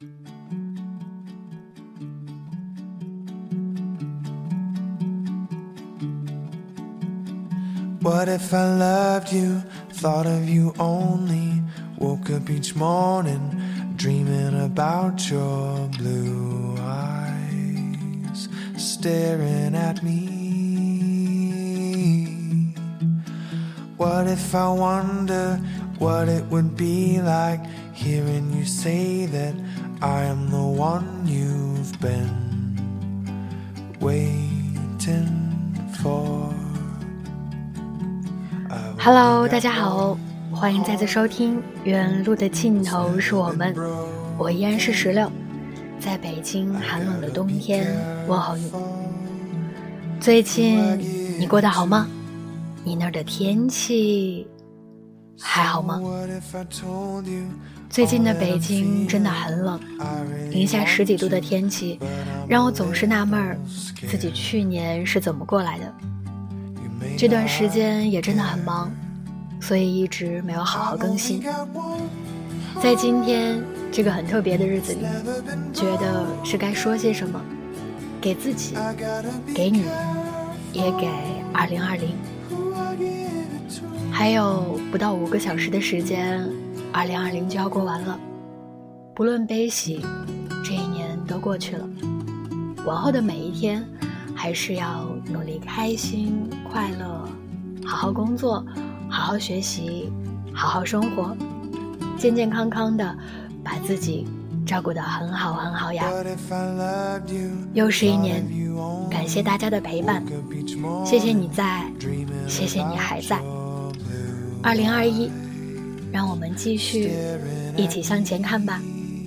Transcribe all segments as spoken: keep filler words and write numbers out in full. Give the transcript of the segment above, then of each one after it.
What if I loved you, thought of you only, woke up each morning, dreaming about your blue eyes, staring at me. What if I wonder what it would be like, hearing you say that I am the one you've been waiting for.Hello， 大家好，欢迎再次收听原路的尽头是我们，我依然是石榴，在北京寒冷的冬天问候你。最近你过得好吗？你那儿的天气还好吗？最近的北京真的很冷，零下十几度的天气让我总是纳闷自己去年是怎么过来的。这段时间也真的很忙，所以一直没有好好更新。在今天这个很特别的日子里，觉得是该说些什么，给自己，给你，也给二零二零。还有不到五个小时的时间，二零二零就要过完了。不论悲喜，这一年都过去了。往后的每一天还是要努力开心快乐，好好工作，好好学习，好好生活，健健康康的把自己照顾得很好很好呀。又是一年，感谢大家的陪伴，谢谢你在，谢谢你还在。二零二一，让我们继续一起向前看吧。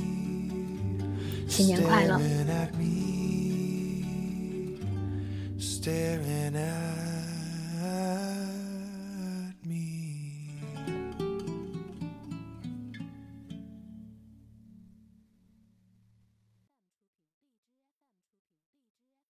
新年快乐。 Staring at